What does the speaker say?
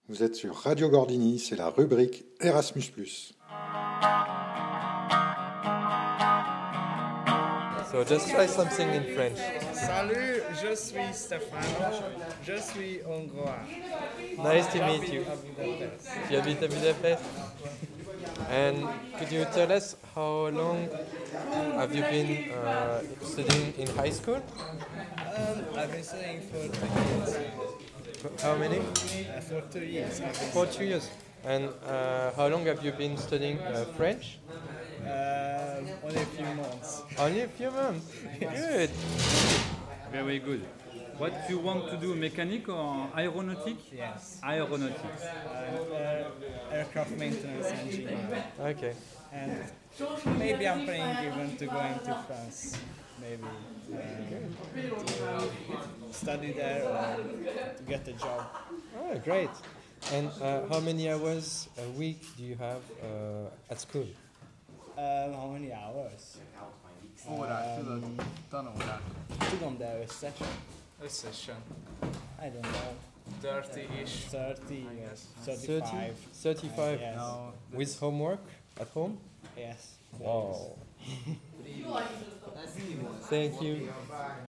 Vous êtes sur Radio Gordini, c'est la rubrique Erasmus+. So just try something in French. Salut, je suis Stefano, je suis hongrois. Nice to meet you. À Budapest. Tu habites à Budapest? And could you tell us how long have you been studying in high school? I've been studying for 2 years. How many? For 2 years. I've been For 2 years. And how long have you been studying French? only a few months. Only a few months. Good. Very good. What you want to do, mechanic or aeronautic? Yes. Aeronautics. Aircraft maintenance engineer. Okay. And maybe I'm planning even to go into France. Maybe to study there or to get a job. Oh, great. And how many hours a week do you have at school? How many hours? Tudom, de összesen. I don't know. 30-ish. 30, yes. 30? 35. 35 Yes. with homework at home? Yes. Wow. Thank you.